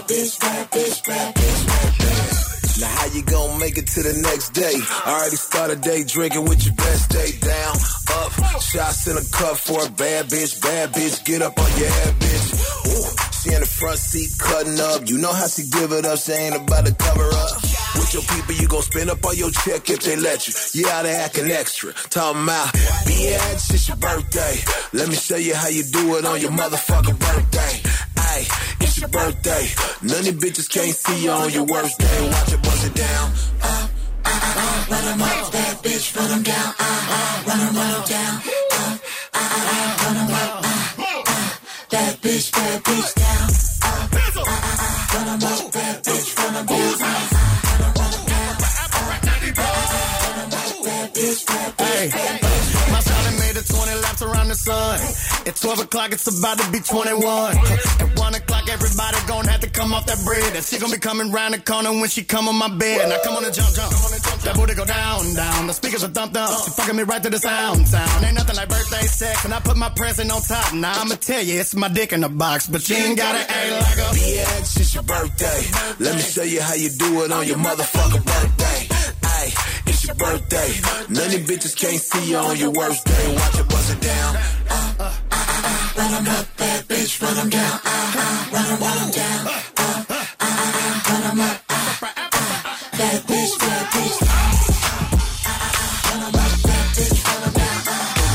bad bitch, bad bitch, bad bitch, bad bitch. Now how you gonna make it to the next day? Already started day drinking with your best day. Down, up, shots in a cup for a bad bitch, get up on your head, bitch. Ooh, she in the front seat cutting up. You know how she give it up, she ain't about to cover up. With your people, you gon' spend up all your check if they let you. You out there acting extra. Talking about, bitch, it's your birthday. Let me show you how you do it on your motherfucking birthday. Ay, it's your birthday. None of these bitches can't see you on your worst day. Watch it bust it down. Run them up, bad bitch, run them down. Run them down. Run them up, bad bitch down. Run them up, bad bitch, run them down. Hey, my shawty made it 20 laps around the sun. At 12 o'clock, it's about to be 21. At 1 o'clock, everybody gon' have to come off that bread. And she gon' be coming round the corner when she come on my bed. Now come on and jump. That booty go down. The speakers are thumped up. She fucking me right to the sound. Ain't nothing like birthday sex. And I put my present on top. Now I'ma tell you, it's my dick in the box. But you ain't gotta act like a bitch, it's your birthday. Let me show you how you do it on your motherfucking birthday. Ay, it's your birthday. None of these bitches can't see you on your worst day. Watch it bust it down. Run them up, bad bitch, run them down. Run them down. Run them up, bad bitch down. Run them up, bad bitch, run them down.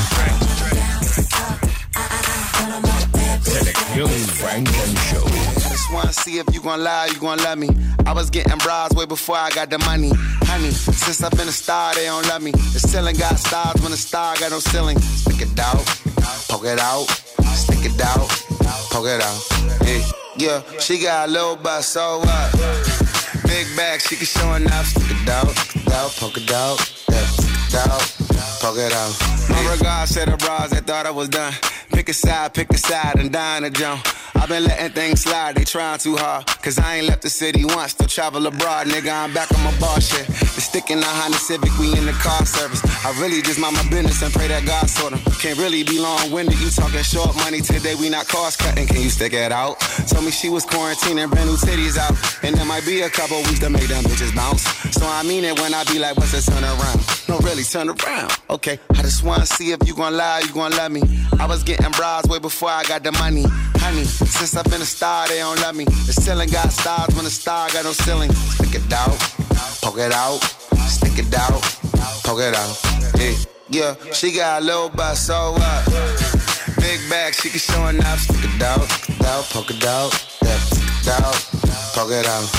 Run them up, bad bitch. Selección Frank and Show. I just wanna see if you gon' lie, you gon' love me. I was getting bras way before I got the money. Honey, since I've been a star, they don't love me. The ceiling got stars when the star got no ceiling. Stick it out, poke it out. Stick it out, poke it out. Hey, yeah, she got a little butt, so what? Big bag, she can show enough. Stick it out, poke it out. Yeah, stick it out, poke it out. My regards to the bras that thought I was done. Pick a side, and dine a jump. I've been letting things slide, they trying too hard. Cause I ain't left the city once, still travel abroad. Nigga, I'm back on my bar shit. The stick in the Honda Civic, we in the car service. I really just mind my business and pray that God sort them. Can't really be long-winded, you talking short money. Today we not cost cutting, can you stick it out? Told me she was quarantining, brand new titties out. And there might be a couple weeks to make them bitches bounce. So I mean it when I be like, what's the turn around? No, really, turn around. Okay, I just wanna see if you gon' lie, you gon' love me. I was getting bras way before I got the money. Honey, since I've been a star, they don't love me. The ceiling got stars when the star got no ceiling. Stick it out, poke it out. Stick it out, poke it out. Yeah, she got a little butt, so what? Big bag, she can show enough. Stick it out, poke it out. Yeah, stick it out, poke it out.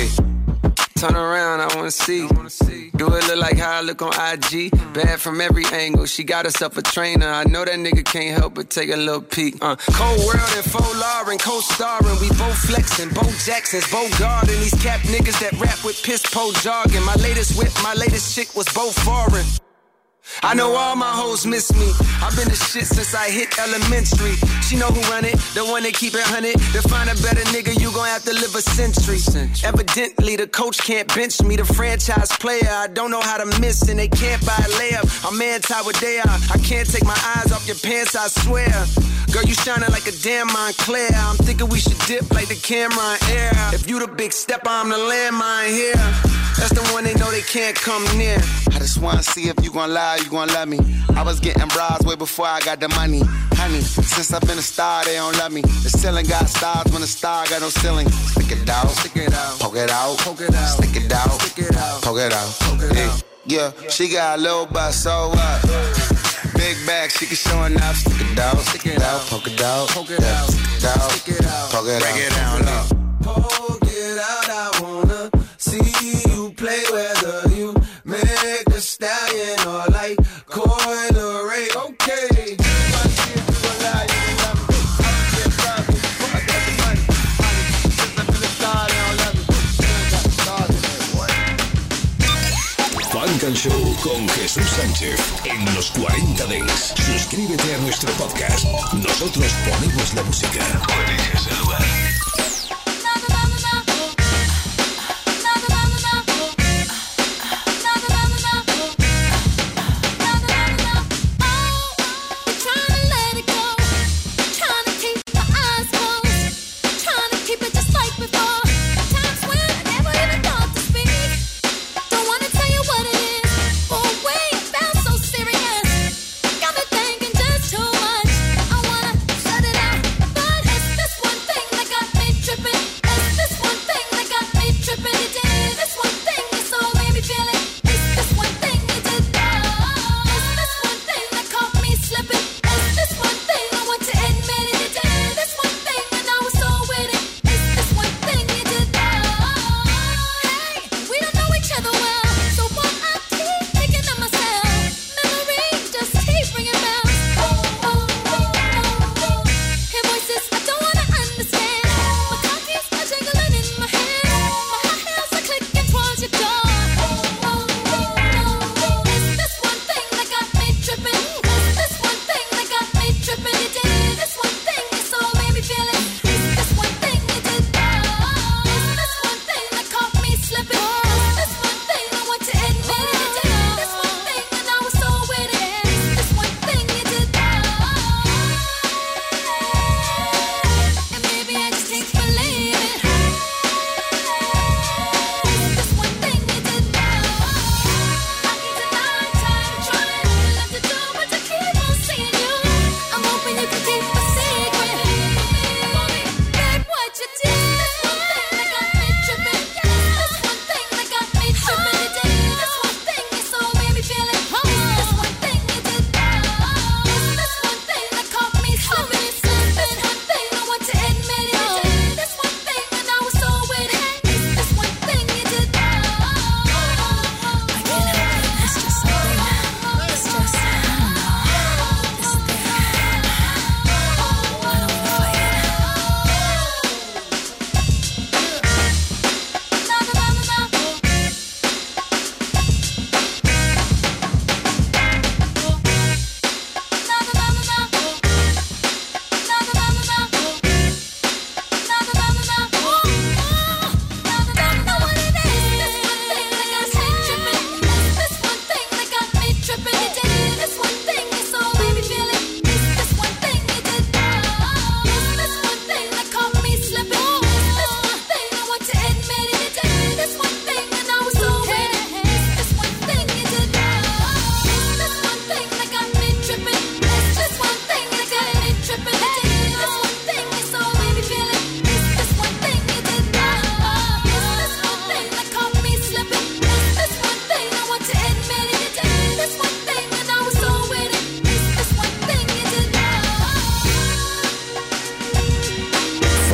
Turn around, I wanna see. Do it look like how I look on IG? Bad from every angle. She got herself a trainer. I know that nigga can't help but take a little peek. Cold World and Faux Lauren, co-starring. We both flexing, Bo Jackson's, Bo Garden. These cap niggas that rap with piss po jargon. My latest whip, my latest chick was both foreign. I know all my hoes miss me. I've been the shit since I hit elementary. She know who run it, the one that keep it 100. To find a better nigga, you gon' have to live a century. Evidently, the coach can't bench me. The franchise player, I don't know how to miss, and they can't buy a layup. I'm anti what they are. I can't take my eyes off your pants, I swear. Girl, you shining like a damn Montclair. I'm thinking we should dip like the camera in air. If you the big stepper, I'm the landmine here. That's the one they know they can't come near. I just wanna see if you gon' lie, you gon' love me. I was getting bras way before I got the money. Honey, since I've been a star, they don't love me. The ceiling got stars when the star got no ceiling. Stick it out, poke it out. Stick it out, poke it out. Yeah, she got a little butt, so what? Big bag, she can show enough. Stick it out, poke it out. Stick it out, poke it out. Break it down, low. Poke it out, I wanna see you play, whether you make a stallion or like Coil Ray. Okay. Funk and Show con Jesús Sánchez en los 40 Dents. Suscríbete a nuestro podcast. Nosotros ponemos la música. Eliges el lugar. Trying to keep my eyes closed, trying to keep it just like before.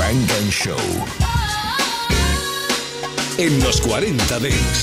Funk and Show. En los 40 Dents.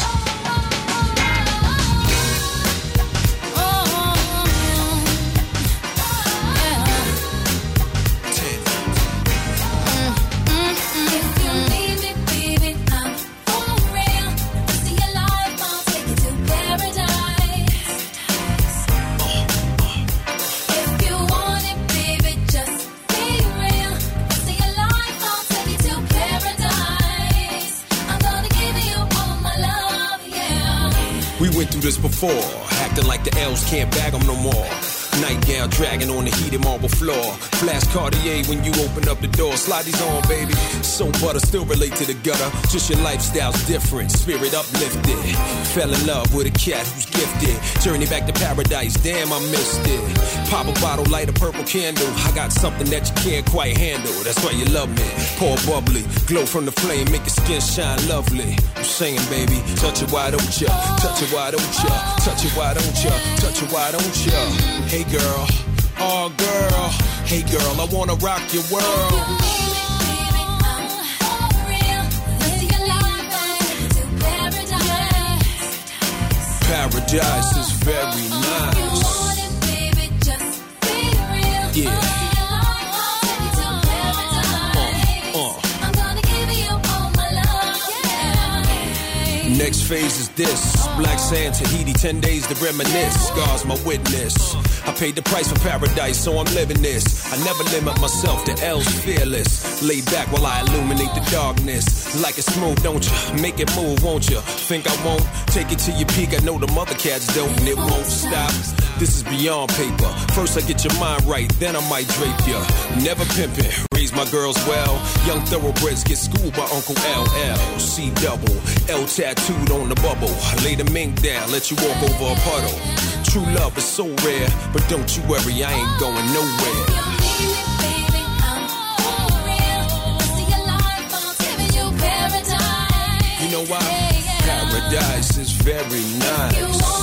We went through this before, acting like the elves can't bag them no more. Nightgown dragging on the heated marble floor. Flash Cartier when you open up the door. Slide these on, baby. So butter, still relate to the gutter. Just your lifestyle's different, spirit uplifted. Fell in love with a cat who's gifted. Journey back to paradise, damn I missed it. Pop a bottle, light a purple candle. I got something that you can't quite handle. That's why you love me. Pour bubbly, glow from the flame, make your skin shine lovely. I'm saying, baby, touch it, why don't ya? Touch it, why don't ya? Touch it, why don't ya? Touch it, why don't ya? Hey girl, oh girl, hey girl, I wanna rock your world. Paradise is very nice. Yeah. Next phase is this. Black sand, Tahiti, 10 days to reminisce. God's my witness. I paid the price for paradise, so I'm living this. I never limit myself to L's fearless. Lay back while I illuminate the darkness. Like it's smooth, don't you? Make it move, won't you? Think I won't? Take it to your peak, I know the mother cats don't, and it won't stop. This is beyond paper. First I get your mind right, then I might drape ya. Never pimpin', raise my girls well. Young thoroughbreds get schooled by Uncle LL. C double, L tattooed on the bubble. Lay the mink down, let you walk over a puddle. True love is so rare, but don't you worry, I ain't going nowhere. You know why? Paradise is very nice.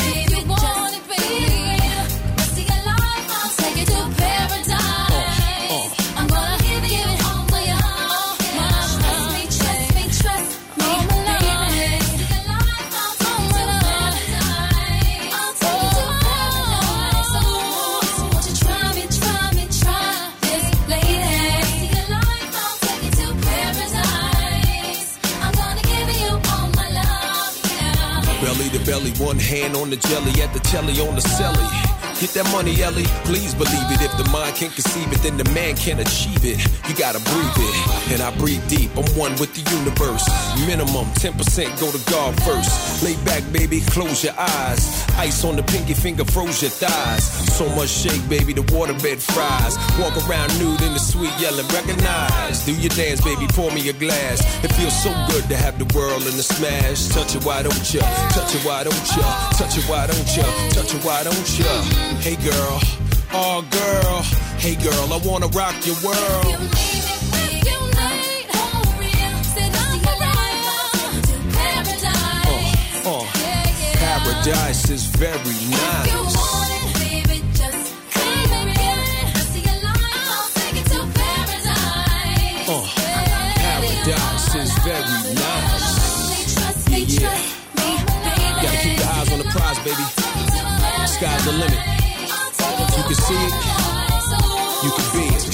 Belly to belly, one hand on the jelly, at the telly on the celly. Get that money, Ellie, please believe it. If the mind can't conceive it, then the man can't achieve it. You gotta breathe it, and I breathe deep. I'm one with the universe. Minimum 10% go to God first. Lay back, baby, close your eyes. Ice on the pinky finger, froze your thighs. So much shake, baby, the waterbed fries. Walk around nude in the sweet yelling, recognize. Do your dance, baby, pour me a glass. It feels so good to have the world in the smash. Touch it, why don't ya? Touch it, why don't ya? Touch it, why don't ya? Touch it, why don't ya? Hey girl, oh girl, hey girl, I wanna rock your world. Paradise is very nice. Paradise is very nice. Yeah. Gotta keep your eyes on the prize, baby. Sky's the limit. You can see it, you can be it.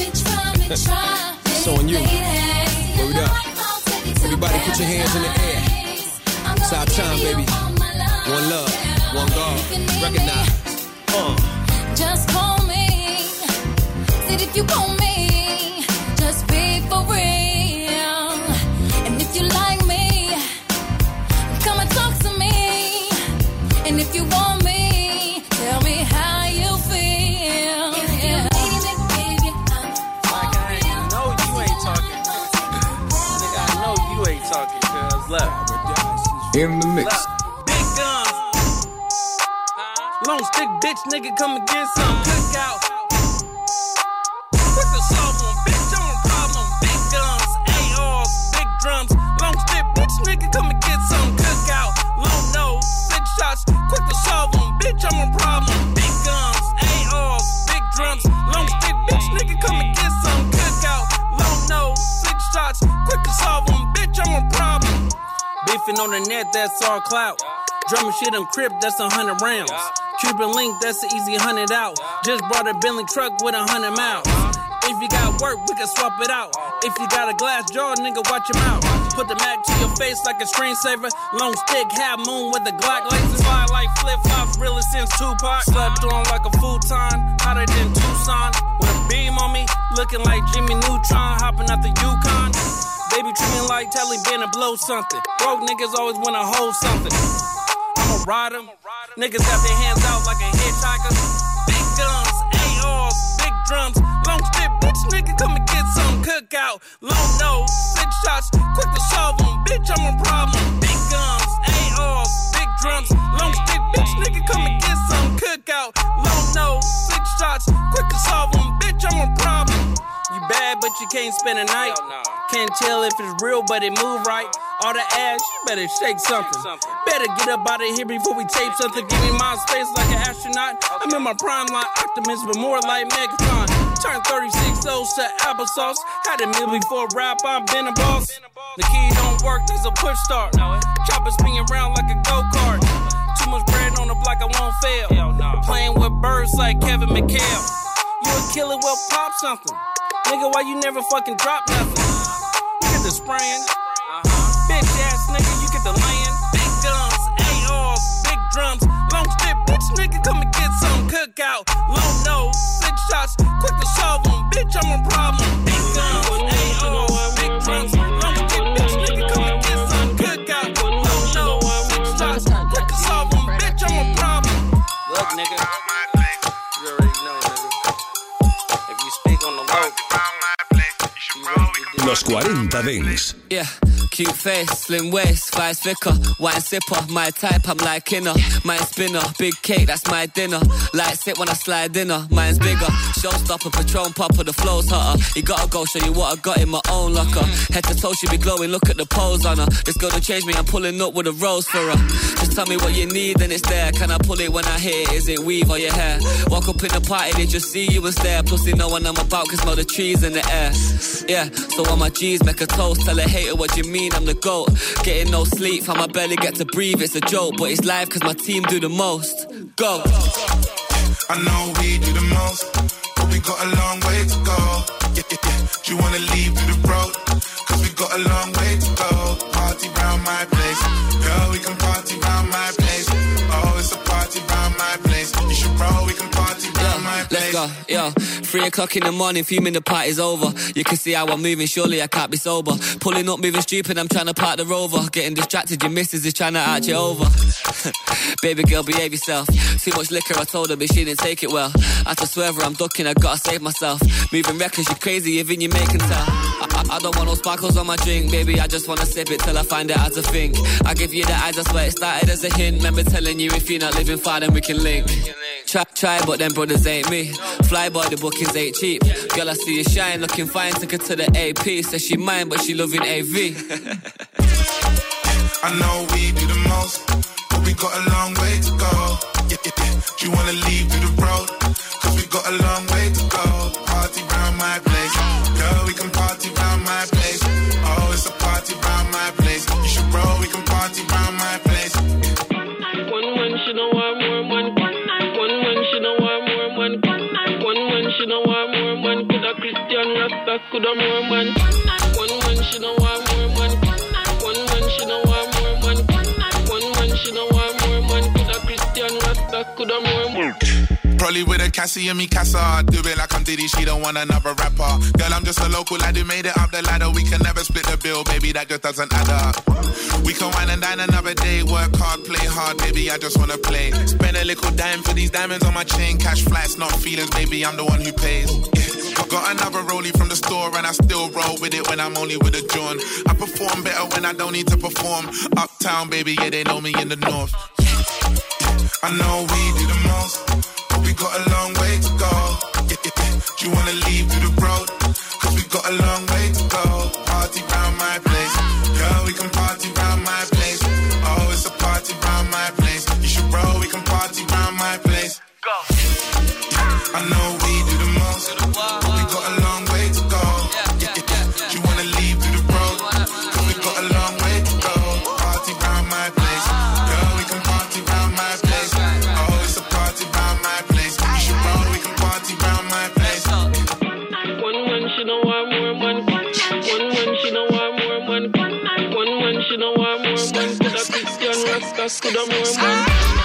It's on you. Word up. Everybody put your hands in the air. It's our time, baby. One love, one God. Recognize. Just call me. Said if you call me, just be for real. And if you like me, come and talk to me. And if you want me, tell me how you feel. Yeah. Baby, I know you ain't talking. Nigga, I know you ain't talking, cuz left. In the mix. Big guns. Long stick bitch, nigga, come and get some cookout. Quick to solve them, bitch, I'm a problem. Big guns, ARs, big drums. Long stick bitch, nigga, come and get some cookout. Long nose, 6 shots, quick to solve them, bitch, I'm a problem. Big guns, ARs, big drums. Long stick bitch, nigga, come and get some cookout. Long nose. beefing on the net, that's all clout. Drumming shit on Crip, that's 100 rounds. Cuban link, that's an easy 100 out. Just brought a Bentley truck with 100 miles. If you got work, we can swap it out. If you got a glass jaw, nigga, watch your mouth. Put the Mac to your face like a screensaver. Long stick, half moon with the Glock laser. Fly like flip-flops, really since Tupac. Slept on like a futon, hotter than Tucson. With a beam on me, looking like Jimmy Neutron, hopping out the Yukon. Baby treat me like Taliban to blow something. Broke niggas always wanna hold something. I'ma ride them. Niggas got their hands out like a hitchhiker. Big guns, ARs, big drums. Long stick, bitch, nigga, come and get some cookout. Long nose, 6 shots, quick to solve them. Bitch, I'm a problem. Big guns, ARs, big drums. Long stick, bitch, nigga, come and get some cookout. Long nose, 6 shots, quick to solve them. Bitch, I'm a problem. You bad, but you can't spend a night. Can't tell if it's real, but it move right. All the ass, you better shake something. Better get up out of here before we tape something. Give me my space like an astronaut. I'm in my prime like Optimus, but more like Megatron. Turned 36 O's to applesauce. Had a meal before rap, I've been a boss. The key don't work, there's a push start. Chopper spinning around like a go-kart. Too much bread on the block, I won't fail. Playing with birds like Kevin McHale. You a killer, well pop something. Nigga, why you never fucking drop nothing? You get the spraying. Bitch ass nigga, you get the laying. Big guns, ARs, big drums. Long stick, bitch nigga, come and get some cookout. Long nose, 6 shots, quick to solve them. Bitch, I'm a problem. Big guns, ARs, big drums. Long stick, bitch nigga, come and get some cookout. Long nose, 6 shots, quick to solve them. Bitch, I'm a problem. Look, nigga, you already know, nigga. If you speak on the low, Los 40 Dents. Yeah. Cute face, slim waist, thighs thicker, wine sipper, my type, I'm like inner. Mine spinner, big cake, that's my dinner. Light sit when I slide dinner, mine's bigger. Showstopper, Patron popper, the flow's hotter. You gotta go show you what I got in my own locker. Head to toe, she be glowing, look at the pose on her. This girl don't change me, I'm pulling up with a rose for her. Just tell me what you need and it's there. Can I pull it when I hit it? Is it weave or your hair? Walk up in the party, they just see you and stare. Plus they know when I'm about, can smell the trees in the air. Yeah, so on my G's, make a toast. Tell a hater what you mean, I'm the GOAT. Getting no sleep, how my belly get to breathe, it's a joke. But it's live cause my team do the most. Go. I know we do the most, but we got a long way to go. Do you wanna leave through the road? Cause we got a long way to go. Party round my place, girl, we can party round my place. Oh, it's a party round my place. You should roll, we can party round my place. Let's go, yo. 3 o'clock in the morning, fuming the party's over. You can see how I'm moving, surely I can't be sober. Pulling up, moving stupid, I'm trying to park the Rover. Getting distracted, your missus is trying to arch you over. Baby girl, behave yourself. Too much liquor, I told her, but she didn't take it well. I had to swerve her, I'm ducking, I gotta save myself. Moving reckless, you crazy, even you making tell. I don't want no sparkles on my drink, baby, I just wanna sip it till I find out how to think. I give you the eyes, I swear it started as a hint. Remember telling you if you're not living far, then we can link. Try, but them brothers ain't me. Fly boy, the bookings ain't cheap. Girl, I see you shine, looking fine, took her to the AP. Says she mine, but she loving AV. I know we do the most, but we got a long way to go. Do you wanna leave through the road? Cause we got a long way to go. Party round my place, girl, we can party round my place. Oh, it's a party round my place. You should roll, we can party round my place. One she know I'm more man. One she know I'm more man. One she know I'm more man. Coulda Christian Rasta, coulda more man. One she know I'm more man. One she know I'm more man. One she know I'm more man. Coulda Christian Rasta, coulda more man. Probably with a Cassie and me Casa. Do it like I'm Diddy, she don't want another rapper. Girl, I'm just a local lad who made it up the ladder. We can never split the bill, baby, that just doesn't add up. We can wine and dine another day. Work hard, play hard, baby, I just wanna play. Spend a little dime for these diamonds on my chain. Cash flights, not feelings, baby, I'm the one who pays. Yeah. Got another rollie from the store and I still roll with it when I'm only with a John. I perform better when I don't need to perform. Uptown, baby, yeah, they know me in the north. I know we do the most, but we got a long way to go. Do you wanna leave through the road? Cause we got a long way to go. Party round my place, girl, we can party round my place. Oh, it's a party round my place. You should roll, we can party round my place. Go. I know we do the most, but we got a long way to go. Do you wanna leave through the road? Cause we got a long way to go. Party round ask her the more.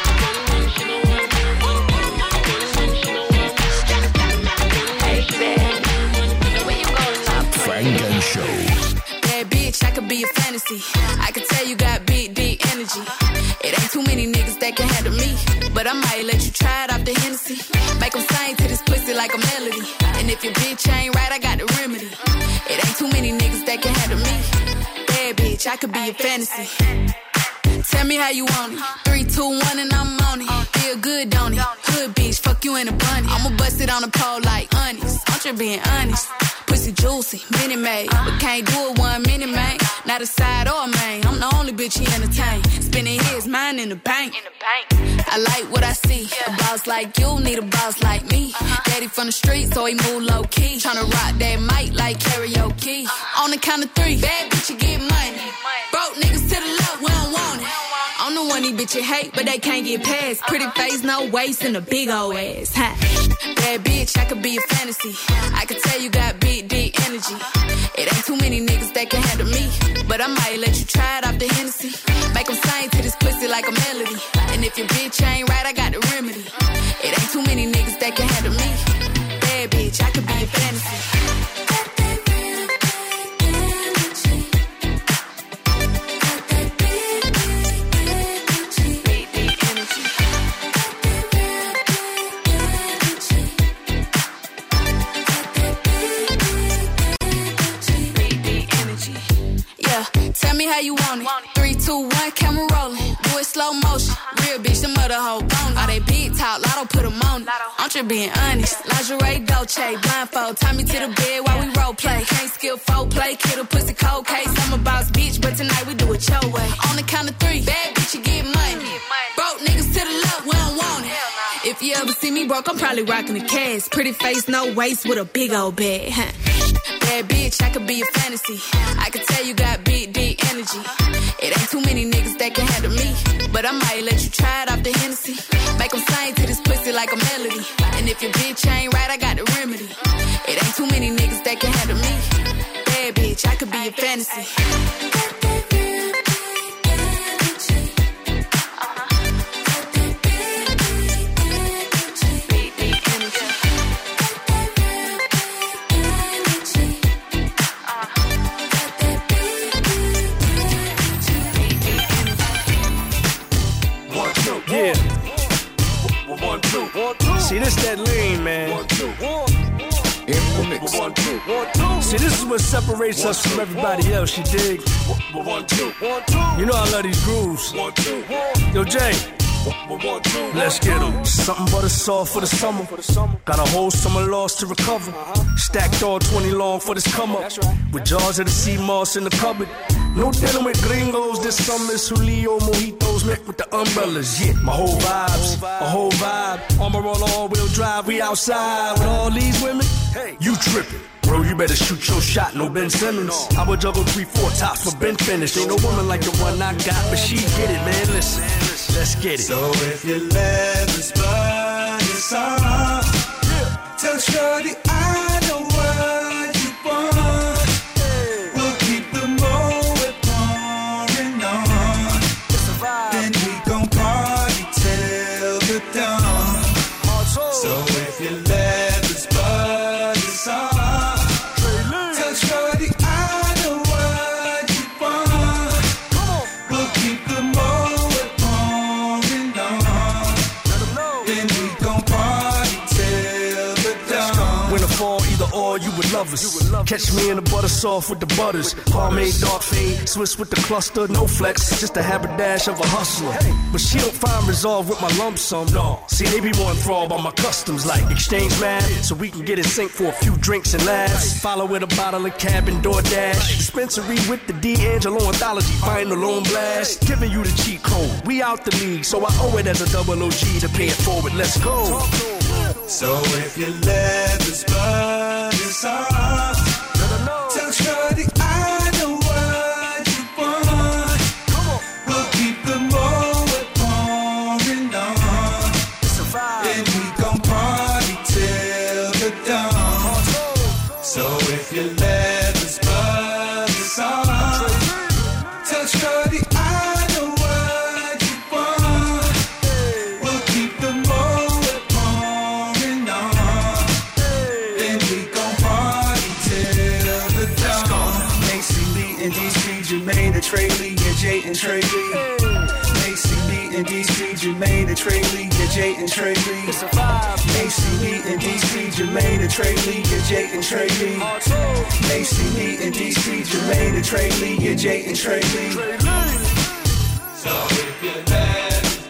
Frank and Show. Bad bitch, I could be a fantasy. I could tell you got big, deep energy. It ain't too many niggas that can handle me, but I might let you try it off the Hennessy. Make them sing to this pussy like a melody. And if your bitch ain't right, I got the remedy. It ain't too many niggas that can handle me. Bad bitch, I could be a fantasy. Tell me how you want it. 3, 2, 1 and I'm on it. Feel good, don't it? Hood bitch, fuck you in a bunny. I'ma bust it on the pole like honest. I'm just being honest. Pussy juicy, mini made, but can't do it 1 minute, man. Not a side or a main. I'm the only bitch he entertain. Spending his mind in the bank. I like what I see. A boss like you need a boss like me. Daddy from the street, so he move low key. Tryna rock that mic like karaoke. On the count of 3, bad bitch you get money. Broke niggas to the left, we don't want it. I'm the one these bitches hate, but they can't get past. Pretty face, no waist, and a big old ass. Huh? Bad bitch, I could be a fantasy. I could tell you got big, deep energy. It ain't too many niggas that can handle me, but I might let you try it off the Hennessy. Make them sing to this pussy like a melody. And if your bitch ain't right, I got the remedy. It ain't too many niggas that can handle me. Bad bitch, I could be a fantasy. Tell me how you want it. 3, 2, 1, camera rolling. Do it slow motion. Real bitch, the mother hoe bone. All they big talk, lotto put them on it. I'm just being honest. Lingerie, Dolce, blindfold. Tie me to the bed while we role play. Can't skill folk play. Kid a pussy cold case. I'm a boss bitch, but tonight we do it your way. On the count of 3, bad bitch, you get money. Broke niggas to the left, we don't want it. If you ever see me broke, I'm probably rocking a cast. Pretty face, no waist, with a big old bag. Bad bitch, I could be a fantasy. I could tell you got big, deep energy. It ain't too many niggas that can handle me, but I might let you try it off the Hennessy. Make them sing to this pussy like a melody. And if your bitch ain't right, I got the remedy. It ain't too many niggas that can handle me. Bad bitch, I could be a fantasy. Yeah. 1, 2. See, this that lean, man. 1, 2. See, this is what separates us from everybody else, you dig? 1, 2. You know I love these grooves. Yo, Jay. Let's get 'em. Something but a saw for the summer. Got a whole summer loss to recover. Stacked all 20 long for this come up. With jars of the sea moss in the cupboard. No dealing with gringos this summer. Julio mojitos met with the umbrellas. Yeah, my whole vibe. Armor all wheel drive. We outside with all these women. Hey, you tripping. Bro, you better shoot your shot, no Ben Simmons. I would juggle 3, 4 tops for Ben finished. Ain't no woman like the one I got, but she get it, man. Listen, let's get it. So if your leather's burn, it's on. Tell Shorty I know what you want. We'll keep the moat pouring on. Then we gon' party till the dawn. So if your leather's burn, it's on. You would love us. Catch me in the butter soft with the butters. Homemade dark fade, Swiss with the cluster, no flex, just a haberdasher of a hustler. But she don't find resolve with my lump sum. No, see they be more enthralled by my customs, like exchange mad, so we can get in sync for a few drinks and laughs. Follow with a bottle of cab and DoorDash. Dispensary with the D'Angelo anthology, final on blast. Giving you the cheat code. We out the league, so I owe it as a double OG to pay it forward. Let's go. So if your leather's burn, it's on. Tell Shorty I know what you want. We'll keep the moat pouring on. Then we gon' party till the dawn. So if your leather's burn, it's on. Tell Shorty I know what you want. in DC, Jermaine, and Trey Lee, yeah, Jay and Trey Lee. Macy Lee in DC, Jermaine, and Trey Lee, yeah, Jay and Trey Lee. Macy Lee in DC, Jermaine, and Trey Lee, yeah, Jay and Trey Lee. Macy Lee in DC, Jermaine, and Trey Lee, yeah, Jay and Trey Lee. So if you're there.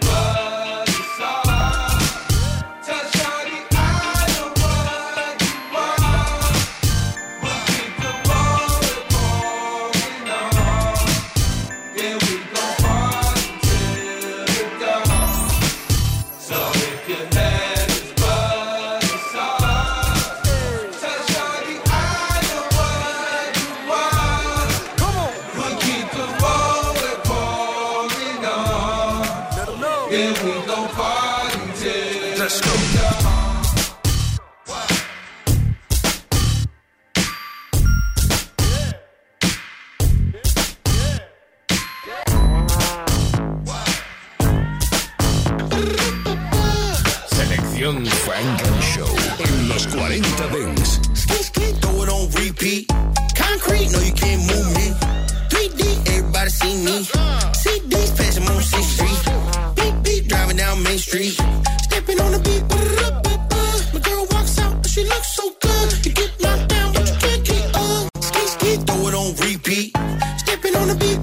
Funk and Show en los 40 Dents. Throw it on repeat. Concrete, no you can't move me. 3D, everybody see me. CDs, passing on 6th Street. Beep, beep, driving down Main Street. Stepping on the beat. My girl walks out, but she looks so good. You get knocked down, but you can't get up. Ski, throw it on repeat. Stepping on the beat.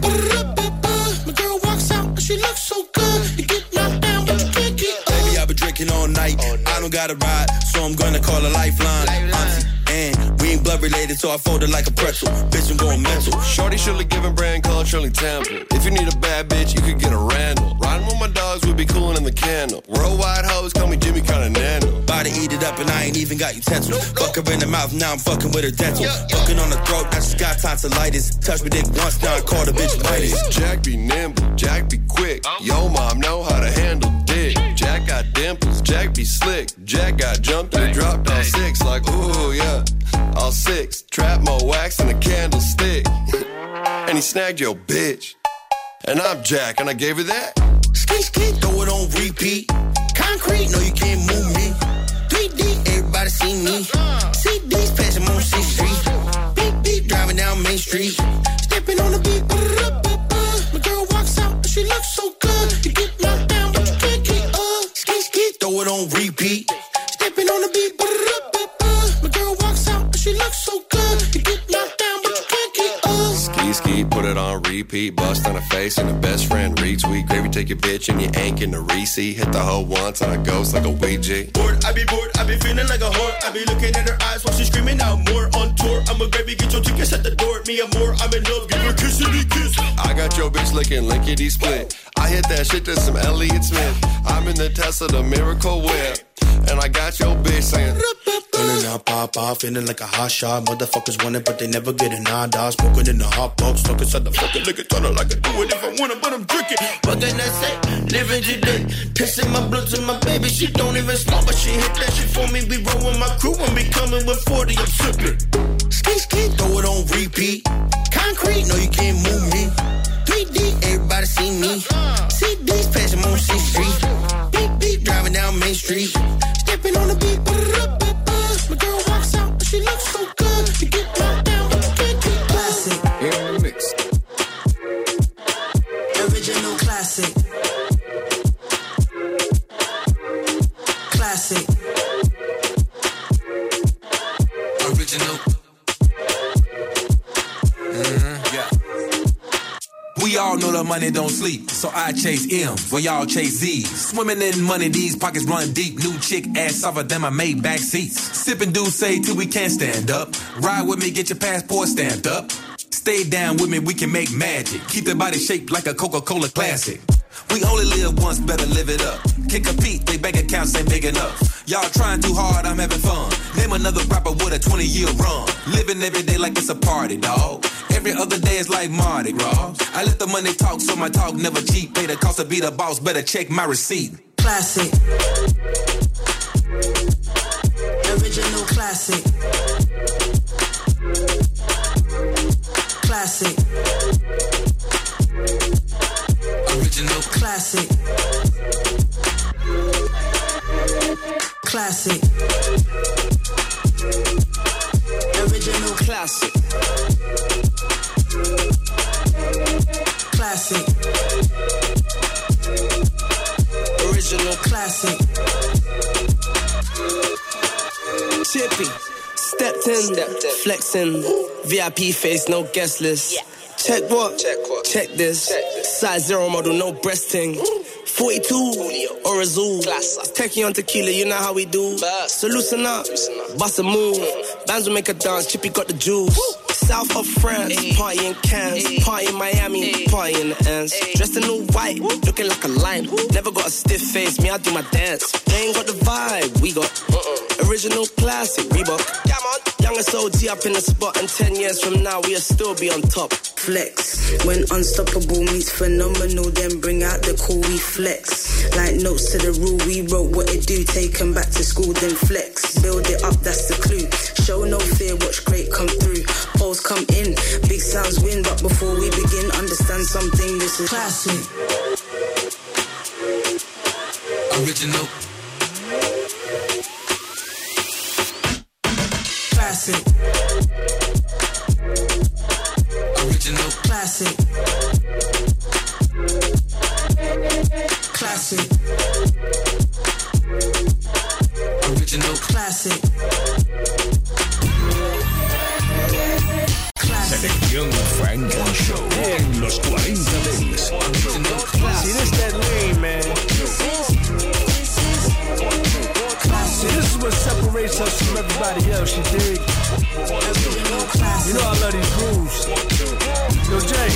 My girl walks out, but she looks so good. You get knocked down, but you can't get up. Baby, I've been drinking all night. I don't got a ride, so I'm gonna call a lifeline. Auntie, and we ain't blood related, so I fold it like a pretzel. Bitch, I'm going mental. Shorty Shirley giving brand color Shirley Temple. If you need a bad bitch, you could get a Randall. Riding with my dogs, we be cooling in the candle. Worldwide hoes, call me Jimmy Continental. Body eat it up and I ain't even got utensils. Fuck her in the mouth, now I'm fucking with her dental. Fucking on the throat, I just got tonsillitis. Touch me dick once, now I call the bitch Midas. Jack be nimble, Jack be quick. Yo mom know how to handle dick. Jack got dimples, Jack be slick. Jack got jumped and dropped all 6 like ooh yeah. All 6, trap more wax than a candlestick. And he snagged your bitch. And I'm Jack and I gave her that. Ski, throw it on repeat. Concrete, no you can't move me. 3D, everybody see me. CDs, passing on 6th Street. Beep, beep, driving down Main Street. Stepping on the beat. My girl walks out, but she looks so good. You get knocked down, but you can't get up. Ski, throw it on repeat. Stepping on the beat. My girl walks out, but she looks so good. You get knocked down, but you can't get up. Ski, put it on repeat. Bust on her face and her best friend retweet. Gravy, take your bitch and your ain't in the receipt. Hit the hoe once and I ghost like a Ouija. Bored, I be feeling like a whore. I be looking at her eyes while she's screaming out more. On tour, I'm a baby, get your tickets at the door. Me and more, I'm in love, give her a kissity kiss. I got your bitch licking lickety split. I hit that shit to some Elliott Smith. I'm in the Tesla, the Miracle Whip. And I got your bitch saying feeling out, pop off, feeling like a hot shot. Motherfuckers want it, but they never get it. Nah, dog, smoking in the hot box. Stuck inside the fucking liquor tunnel like I do it if I want it, but I'm drinking. What can I say? Living today. Pissing my blood to my baby. She don't even smoke, but she hit that shit for me. We roll with my crew and be coming with 40. I'm sipping. Ski, throw it on repeat. Concrete, no you can't move me. 3D, everybody see me. CDs, passing on 6th Street. Beep, beep, driving down Main Street. Stepping on the beat. My girl walks out, but she looks so good. You get knocked down, but you can't get classic. In the mix. Original classic. Classic. Original. Yeah. We all know the money don't sleep, so I chase M's while y'all chase Z's. Swimming in money, these pockets run deep. New chick, ass softer than my Maybach seats. Sipping Douce till we can't stand up. Ride with me, get your passport stamped up. Stay down with me, we can make magic. Keep the body shaped like a Coca-Cola classic. We only live once, better live it up. Can't compete, they bank accounts ain't big enough. Y'all trying too hard, I'm having fun. Name another rapper with a 20-year run. Living every day like it's a party, dawg. Every other day is like Mardi Gras. I let the money talk, so my talk never cheap. Pay the cost to be the boss, better check my receipt. Classic. Original classic. Classic. Original classic. Classic. Original classic. Chippy, stepped in, flexing, VIP face, no guest list. Check what? Check this. Size 0 model, no breasting. 42 or Azul. Techie on tequila, you know how we do. So loosen up, bust a move. Bands will make a dance, Chippy got the juice. South of France, party in Cannes, party in Miami, party in the ends. Dressed in all white, looking like a lime. Never got a stiff face, me I do my dance. They ain't got the vibe, we got original classic Reebok. Youngest OG up in the spot, and 10 years from now we'll still be on top. Flex, when unstoppable meets phenomenal, then bring out the cool, we flex. Like notes to the rule, we wrote what it do, take them back to school, then flex. Build it up, that's the clue. Show no fear, watch great come through. Holes come in, big sounds win, but before we begin, understand something, this is classic. Original. Classic. Original. Classic. Classic. Original. Classic. Selección Frank Show en los 40 Dents. See, this that lane, man. See, this is what separates us from everybody else, you dig? You know I love these grooves. Yo, Jay,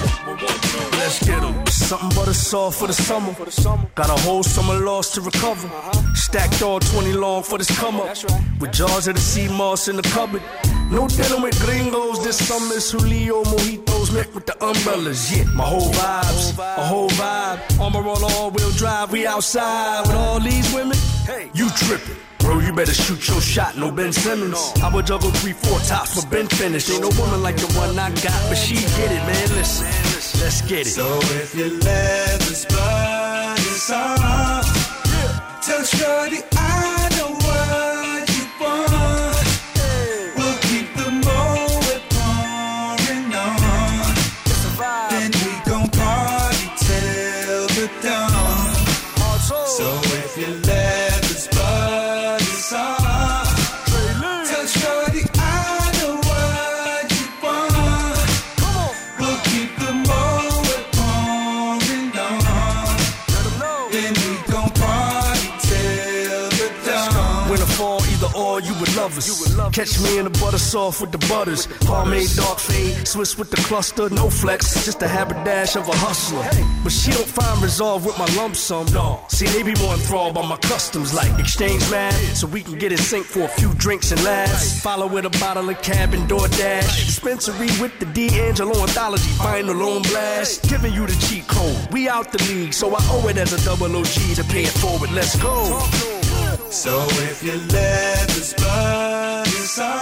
let's get them. Something but a saw for the summer. Got a whole summer loss to recover. Stacked all 20 long for this come up. With jars of the sea moss in the cupboard. No dealing with gringos, this summer's Julio mojitos met with the umbrellas. Yeah, my whole vibes, a whole vibe. Armor on all-wheel drive, we outside with all these women. Hey, you tripping. Bro, you better shoot your shot, no Ben Simmons. I would juggle 3-4 tops for Ben finished. Ain't no woman like the one I got, but she get it, man. Listen, let's get it. So if you let this body song, tell shorty I know what you want. We'll keep the moment pouring on. Then we gon' party till the dawn. So if you let this body song, tell shorty I know what you want. We'll keep the moment pouring on. Then we gon' party till the dawn. Winter, fall, either or, you would love us. Catch me in the butter soft with the butters. Pomade, dark fade, Swiss with the cluster, no flex. Just a haberdash of a hustler. But she don't find resolve with my lump sum. No. See, they be more enthralled by my customs, like exchange mad, so we can get in sync for a few drinks and laughs. Follow with a bottle of cab and DoorDash. Dispensary with the D'Angelo anthology, final on blast. Giving you the cheat code. We out the league, so I owe it as a double OG to pay it forward. Let's go. So if you let this body song,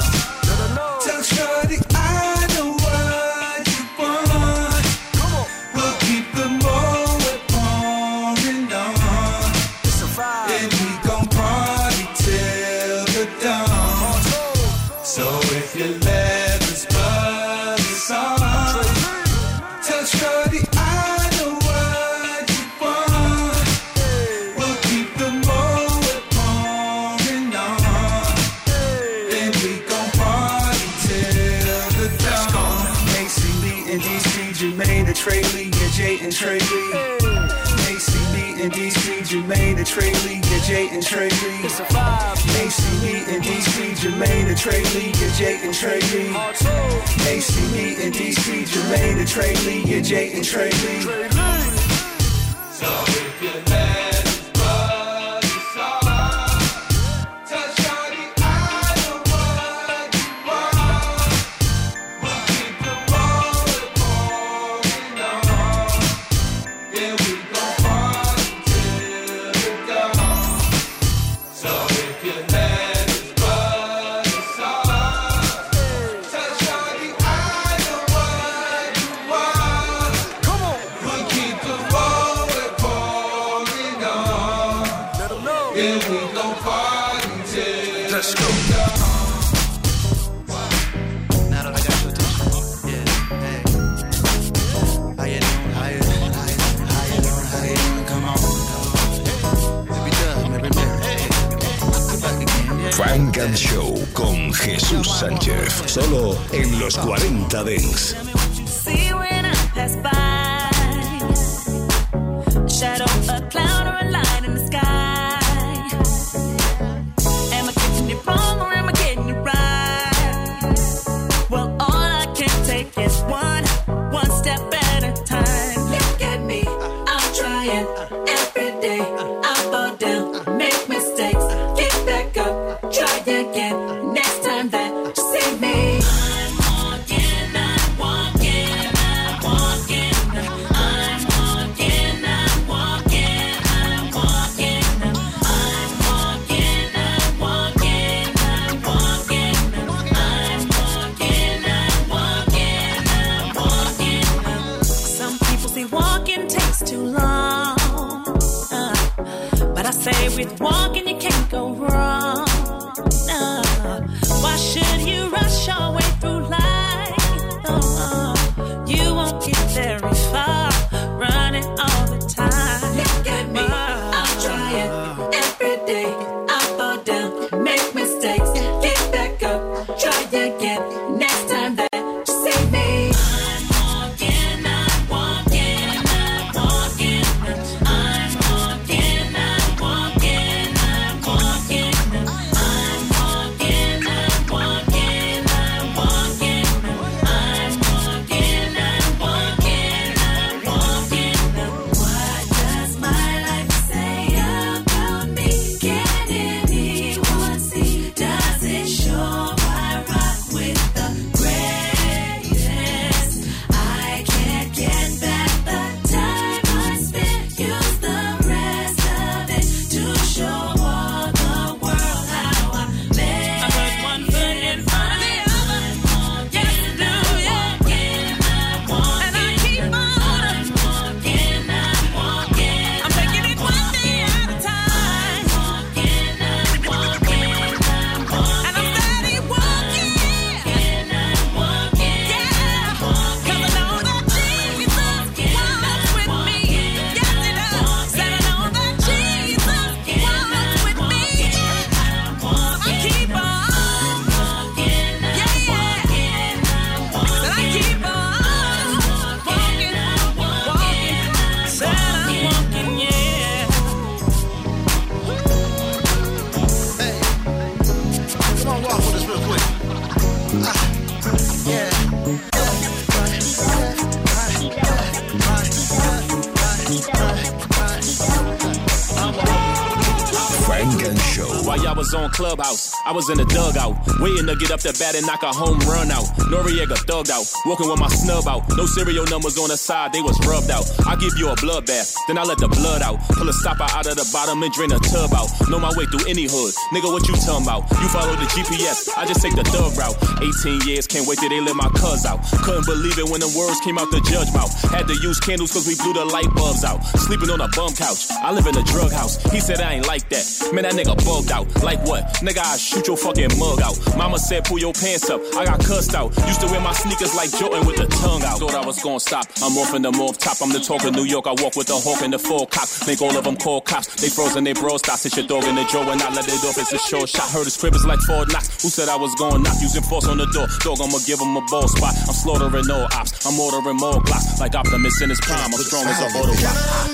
tell shorty I know what you want. We'll keep the moment pouring on. Then we gon' party till the dawn. So if you let this body song, tell shorty I know what you want. We'll keep the moment pouring on. Then we gon' party till the dawn. ACB and DC, Jermaine and Trey Lee, yeah, Jay and Trey Lee. ACB and DC, Jermaine and Trey Lee, yeah, Jay and Trey Lee. ACB and DC, Jermaine and Trey Lee, yeah, Jay and Trey Lee. ACB and DC, Jermaine and Trey Lee, yeah, Jay and Trey Lee. So if you let this body song, tell shorty I know what you want. We'll keep the moment pouring on. Then we gon' party till the dawn. So if you let this body song, tell shorty I know what you want. We'll keep the moment pouring Sánchez, solo en los 40 Dents. See when I pass by, a shadow, a cloud, or a light in the sky. Am I catching it wrong or am I getting it right? Well, all I can take is one step at a time. Look at me, I'm trying every day. I fall down, make mistakes, get back up, try again. Next time that you see me, I'm walking, I'm walking, I'm walking. I'm walking, I'm walking, I'm walking. I'm walking, I'm walking, I'm walking. I'm walking, I'm walking, I'm walking. Some people say walking takes too long, but I say with walking you can't go wrong. Why should you rush your way through life? You won't get very far running all the time. Look at me, I'm trying every day. I fall down, make mistakes, get back up, try again. Next time that you see me, I'm walking, I'm walking, I'm walking. I'm walking, I'm walking, I'm walking. I'm walking, I'm walking, I'm walking. I'm walking, I'm walking, I'm walking. What does my life say about me? Can anyone see? Does it show I rock with the greatest? I can't get back the time I spent. Use the rest of it to show all the world how I made. I put one foot in front of the other. Yes, I do, yeah. And I keep on. I'm walking, I'm walking. I'm taking it one day at a time. I'm walking, I'm walking, I'm walking. And I'm steady walking. I'm walking, yeah. 'Cause I know that Jesus walks with me. Yes, he does. Said I know that Jesus walks with me. I keep on walking, yeah, yeah. Said I keep on walking, walking. Said I'm walking, yeah. Come on, walk with us real quick. Frank and Show. While y'all was on Clubhouse, I was in the dugout, waiting to get up the bat and knock a home run out. Noriega thugged out, walking with my snub out. No serial numbers on the side, they was rubbed out. I give you a bloodbath, then I let the blood out. Pull a stopper out of the bottom and drain a tub out. Know my way through any hood, nigga, what you talking about? You follow the GPS, I just take the thug route. 18 years, can't wait till they let my cuz out. Couldn't believe it when the words came out the judge mouth. Had to use candles cause we blew the light bulbs out. Sleeping on a bum couch, I live in a drug house. He said I ain't like that, man, that nigga bugged out. Like what? Nigga, I shoot your fucking mug out. Mama said pull your pants up, I got cussed out. Used to wear my sneakers like Jordan with the tongue out. Thought I was gonna stop, I'm off in the morph top. I'm the talk of New York, I walk with the hawk and the full cock. Make all of them call cops, they frozen, they bro stops. Hit your dog in the jaw and I let it off, it's a short shot. Heard his crib is like Fort Knox. Who said I was gonna knock? Using force on the door, dog, I'ma give him a ball spot. I'm slaughtering all ops, I'm ordering more glocks. Like Optimus in his prime, I'm strong as a auto rock.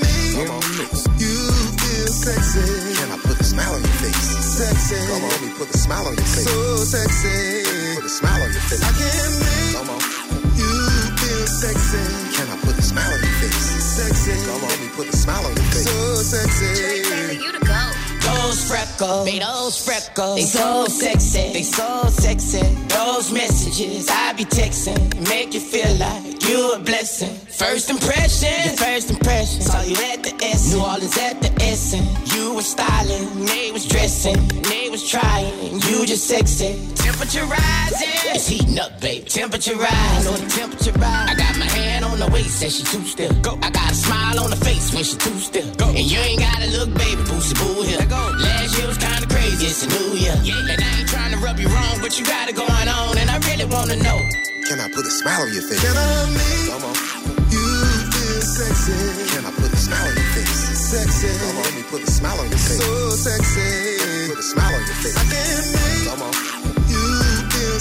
You feel sexy. Can I put a smile on your face? Sexy. Come on, let me put a smile on your face. So sexy. Put a smile on your face. I can't make you feel sexy. Can I put a smile on your face? Sexy. Come on, let me put a smile on your face. So sexy. You to go. Those freckles, they so sexy, they so sexy. Those messages I be texting, make you feel like you a blessing. First impression, saw you at the S. New Orleans at the Essen. You was styling, they was dressing, they was trying. You just sexy. Temperature rising, it's heating up, baby. Temperature rise, know the temperature rise. I got my hand on the waist, said she too still. Go. I got a smile on the face when she too still. Go. And you ain't gotta look, baby, boosie boo here. Last year was kinda crazy, it's a new year. And I ain't trying to rub you wrong, but you got it going on, and I really wanna know. Can I put a smile on your face? Can I make you feel sexy? Can I put a smile on your face? Sexy. Come on, let me put a smile on your face. So sexy. Put a smile on your face. I can make you feel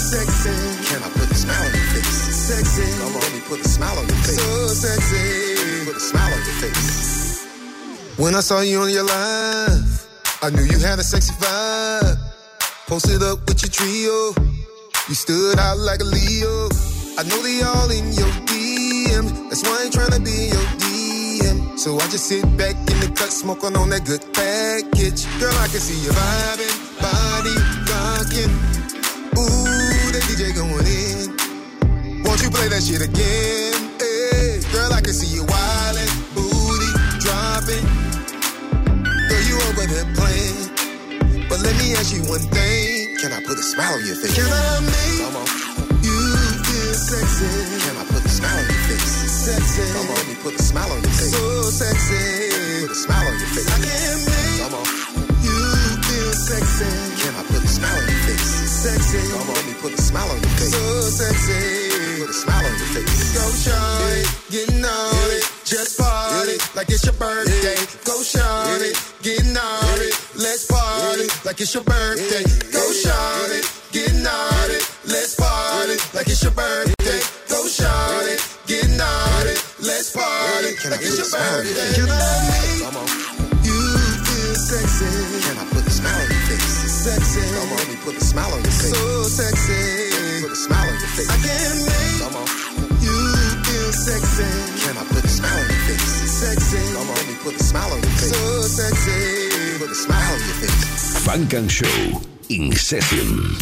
sexy. Can I put a smile on your face? Sexy. Come on, let me put a smile on your face. So sexy. Put a smile on your face. When I saw you on your live, I knew you had a sexy vibe. Posted up with your trio, you stood out like a Leo. I know they all in your DM, that's why I ain't tryna be in your DM. So I just sit back in the cut, smoking on that good package. Girl, I can see you vibing, body rocking. Ooh, that DJ going in. Won't you play that shit again? Hey, girl, I can see you wildin', booty dropping. Girl, you over there playing. But let me ask you one thing. Can I put a smile on your face? Can I make you feel sexy? Can I put a smile on your face? Sexy. Come on, let me put a smile on your face. So sexy. Put a smile on your face. I can make you feel sexy. Can I put a smile on your face? Sexy. Come on, let me put a smile on your face. So sexy. Put a smile on your face. Go shawty, get naughty, just party like it's your birthday. Go shawty, get naughty, let's party like it's your birthday. Go shawty, get naughty, let's party like it's your birthday. Go shawty, get naughty, let's party like it's your birthday. Can I make you feel sexy? Can I put a smile on your face? Sexy. Come on, let me put a smile on your face. So sexy. Put a smile on your face. I can make you feel sexy. Can I put a smile on your face? Sexy. Come on, let me put a smile on your face. So sexy. Put a smile on your face. Funk and Show in session.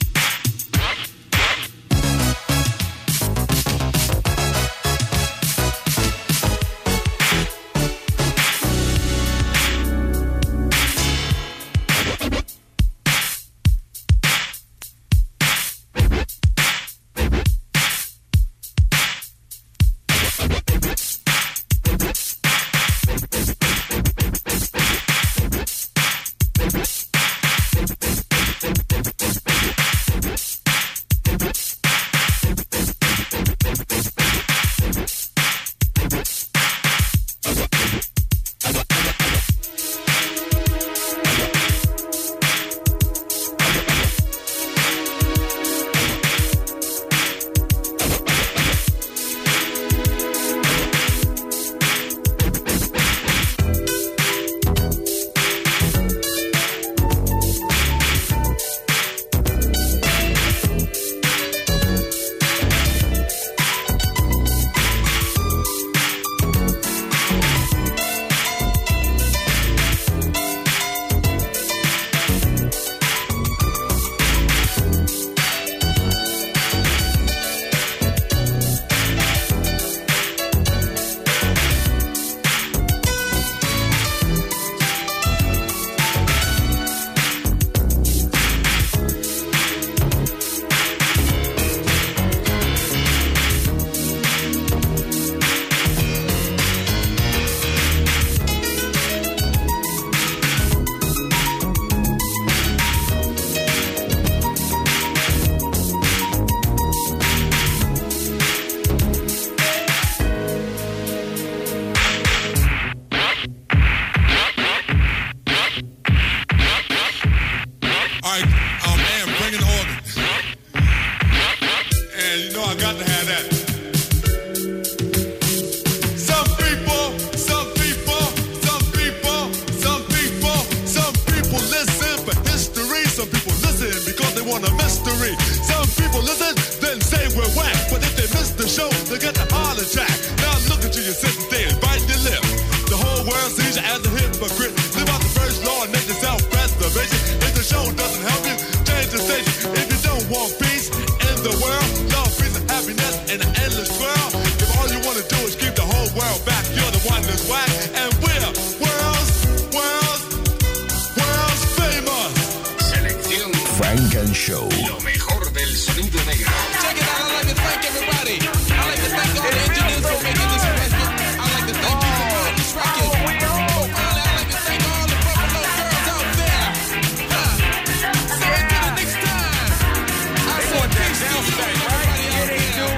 Funk and Show. Lo mejor del sonido negro. Check it out, I'd like to thank everybody. I'd like to thank all the engineers for making this record. I'd like to thank you for putting this record. Oh, finally, I'd like to thank all the Buffalo girls out there. So until the next time, I say peace to you and everybody out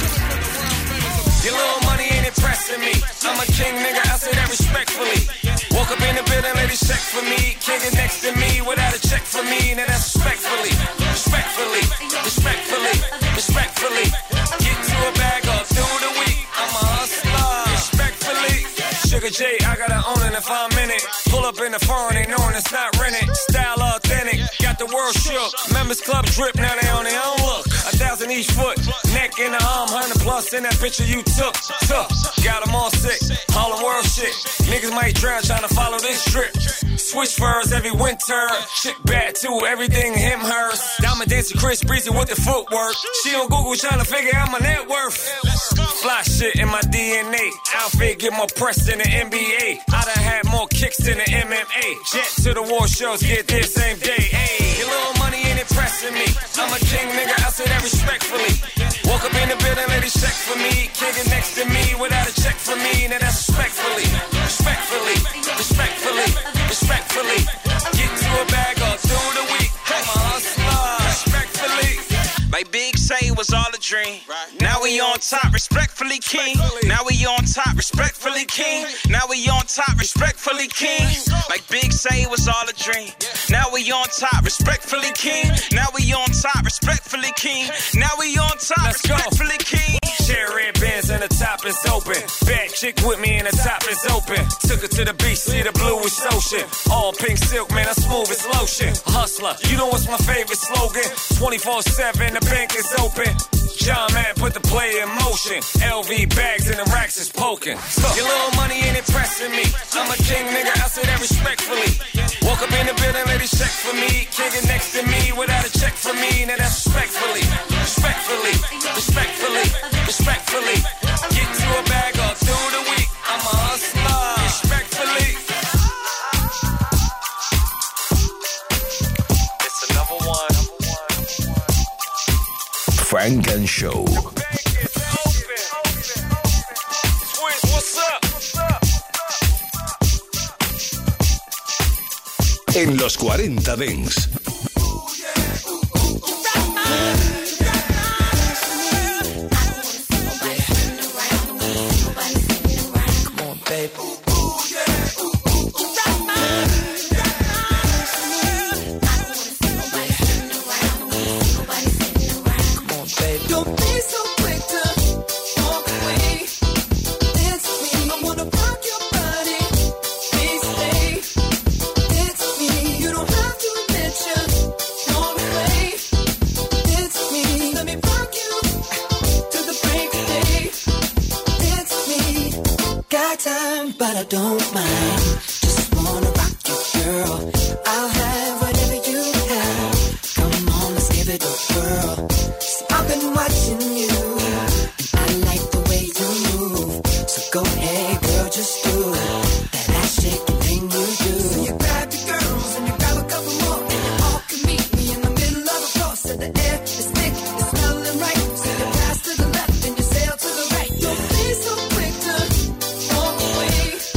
there. Your little money ain't impressing me. I'm a king, nigga, I say that respectfully. Woke up in the building, ladies check for me. King is next to me without a check for me. Now that's respectfully. respectfully, respectfully. Get to a bag up through the week. I'm a hustler, respectfully. Sugar J, I gotta own it if I'm in it. Pull up in the foreign, they knowing it's not rented. Style authentic, got the world shook. Members Club drip, now they on their own look. 1,000 each foot, neck in the arm, 100 plus in that picture you took. Got them all sick, all the world shit. Niggas might drown trying to follow this drip. Switch furs every winter, chick bad too, everything him, hers. Diamond dancer Chris Breezy with the footwork. She on Google trying to figure out my net worth. Fly shit in my DNA, outfit get more press than the NBA. I done had more kicks than the MMA. Jet to the war shows, get there same day. Ayy, your little money ain't impressing me. I'm a king, nigga, I say that respectfully. Woke up in the building, ladies check for me. Can't get next to me without a check for me. Now that's respectfully, respectfully, respectfully, respectfully. Get to a bag up through the week. I'm a hustler, respectfully. Like Big say was all a dream. Now we on top, respectfully king. Now we on top, respectfully king. Now we on top, respectfully king. Like Big say was all a dream. Now we on top, respectfully king. Now we on top, respectfully king. Now we on top, respectfully king. Share red bands and the top is open. Bad chick with me and the top is open. Took her to the beach, see the bluish ocean. All pink silk, man, I'm smooth as lotion. Hustler, you know what's my favorite slogan? 24/7, the bank is open. John Man put the play in motion. LV bags and the racks is poking. Your little money ain't impressing me. I'm a king, nigga, I say that respectfully. Woke up in the building, ladies check for me. Can't get next to me without a check for me. Now that's respectfully, respectfully, respectfully, respectfully. Get to a bag up through the week. I'm a hustler, respectfully. It's another one. Frank and Show. What's up? En los 40 Dents. But I don't mind. Just wanna rock you, girl. I'll have whatever you have. Come on, let's give it a whirl. See, I've been watching you, and I like the way you move. So go ahead, girl, just do that ass shaking thing you do. So you grab your girls and you grab a couple more, and you all can meet me in the middle of the floor. So the air is thick, it's smelling right. So you pass to the left and you sail to the right. Don't be so quick to walk away.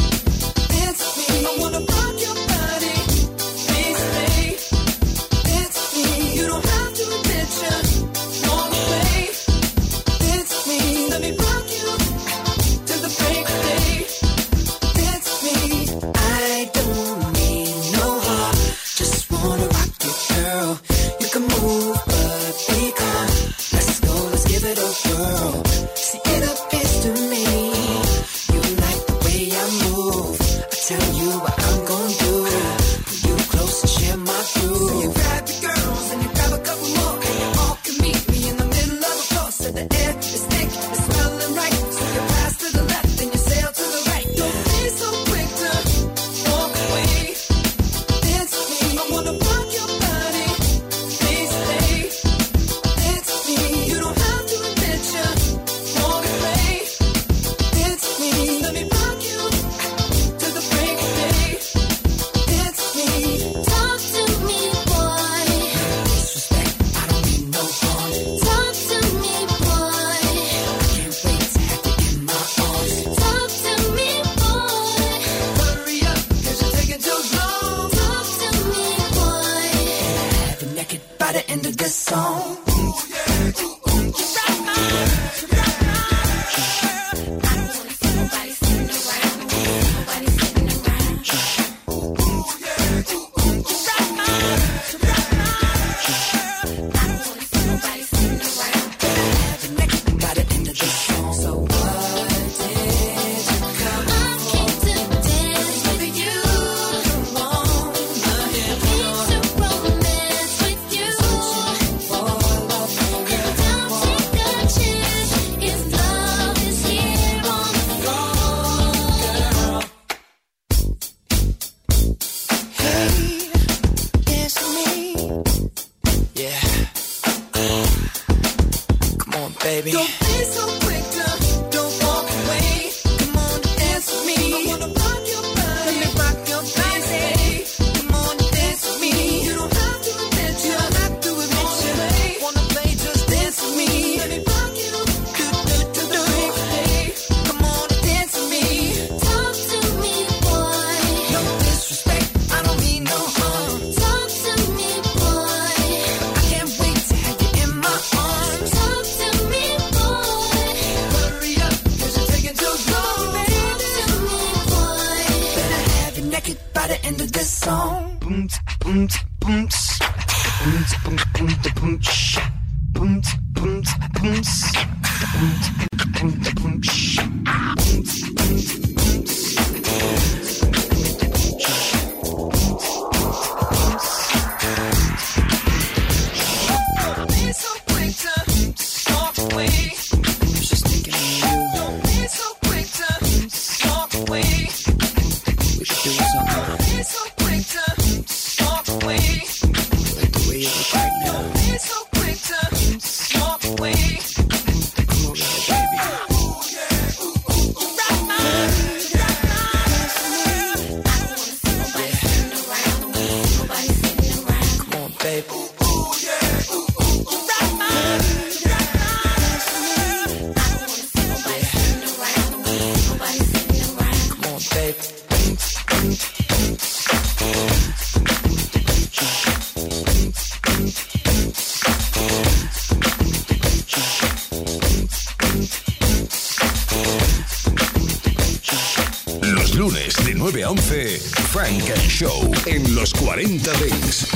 I wanna rock your body, please stay. It's me, you don't have to admit you walk away. It's me, let me rock you till the break of day. It's me, I don't need no heart, just wanna rock you, girl. You can move, but be calm. Let's go, let's give it a whirl. See, it appears to me you like the way I move. Tell you what I'm gonna do. Pull you close and share my groove. So you grab your girls and you grab a couple more, and you all can meet me in the middle of the floor. So the air is thick, it's smelling right. So you pass to the left and you sail to the right. Don't be so quick to walk away. It's me, I wanna rock your body. Please stay. It's me, you don't have to admit you walk away. It's me, let me rock you to the break of day. It's me. Talk to me, boy. Disrespect, I don't mean no harm. Talk to me, boy. I can't wait to baby. Don't be so quick to don't walk away. Come on, dance with me. I wanna rock your body. Let me rock your body. Come on, dance with me. You don't have to admit you. Don't have to admit you. Wanna play, just dance with me. Let me rock you. Come on, dance with me. Talk to me, boy. No disrespect, I don't mean no harm. Talk to me, boy. I can't wait to have you in my arms. Talk to me, boy. Hurry up, 'cause you're taking too long, baby. Talk to me, boy. Better have you naked by the end of this song. Boom, boom, boom, boom, boom, boom, boom, boom, boom, boom, Don't be so quick to walk away. Just thinking of you. Don't be so quick to walk away. We should do something. Don't be so quick to walk away. Like the way you look right now. Don't be so quick to walk away. Come over here, baby. Come on, baby. Come on, baby. Los lunes de 9 a 11, Frank and Show en los 40 Dents.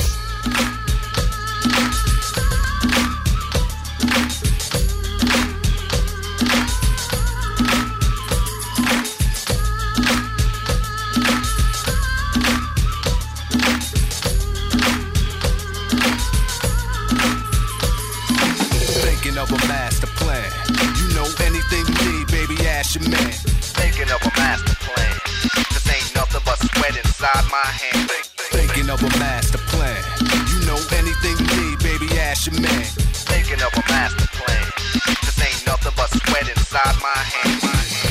Thinking of a master plan. You know anything you need, baby, ask your man. Thinking of a master plan. This ain't nothing but sweat inside my hand. Thinking of a master plan. You know anything you need, baby, ask your man. Thinking of a master plan. This ain't nothing but sweat inside my hand.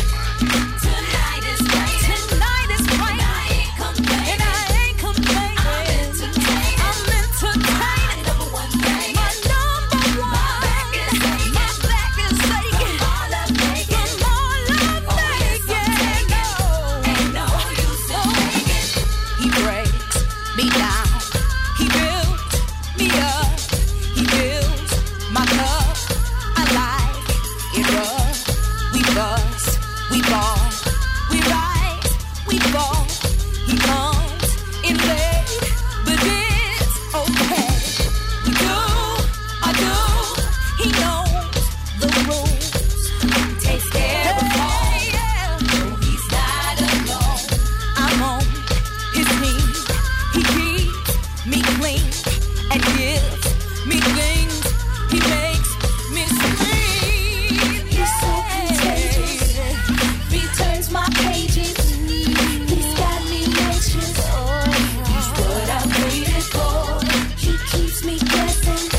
Tonight is right. Tonight is right. I ain't complaining. And I ain't complaining. I'm entertaining. I'm entertaining. My number one thing. My number one. My back is aching. My back is aching. From all I'm making. From all I'm making. No. Ain't no use in faking. He breaks me down. He builds me up. He builds my cup. I like it rough. We bust, we ball, we rise, we fall. He comes in late, but it's okay. We do, I do. He knows the rules. He takes care of all. No, he's not alone. I'm on his team. He keeps me clean and gives me things. He makes me scream. He's so contagious. He turns my pages. He's got me anxious. He's what I waited for. He keeps me guessing.